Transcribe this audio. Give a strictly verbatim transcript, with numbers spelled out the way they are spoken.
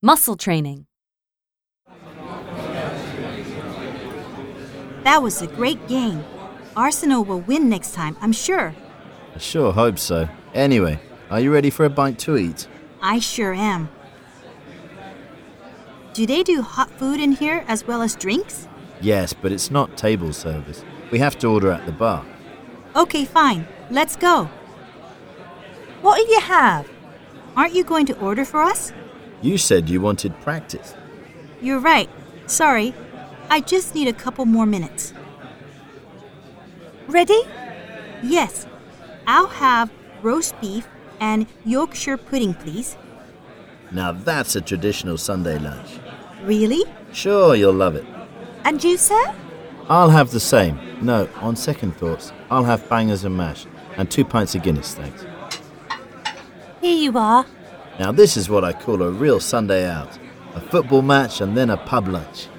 Muscle training. That was a great game. Arsenal will win next time, I'm sure. I sure hope so. Anyway, are you ready for a bite to eat? I sure am. Do they do hot food in here as well as drinks? Yes, but it's not table service. We have to order at the bar. Okay, fine. Let's go. What do you have? Aren't you going to order for us? You said you wanted practice. You're right. Sorry. I just need a couple more minutes. Ready? Yes. I'll have roast beef and Yorkshire pudding, please. Now that's a traditional Sunday lunch. Really? Sure, you'll love it. And you, sir? I'll have the same. No, on second thoughts, I'll have bangers and mash and two pints of Guinness, thanks. Here you are. Now this is what I call a real Sunday out. A football match and then a pub lunch.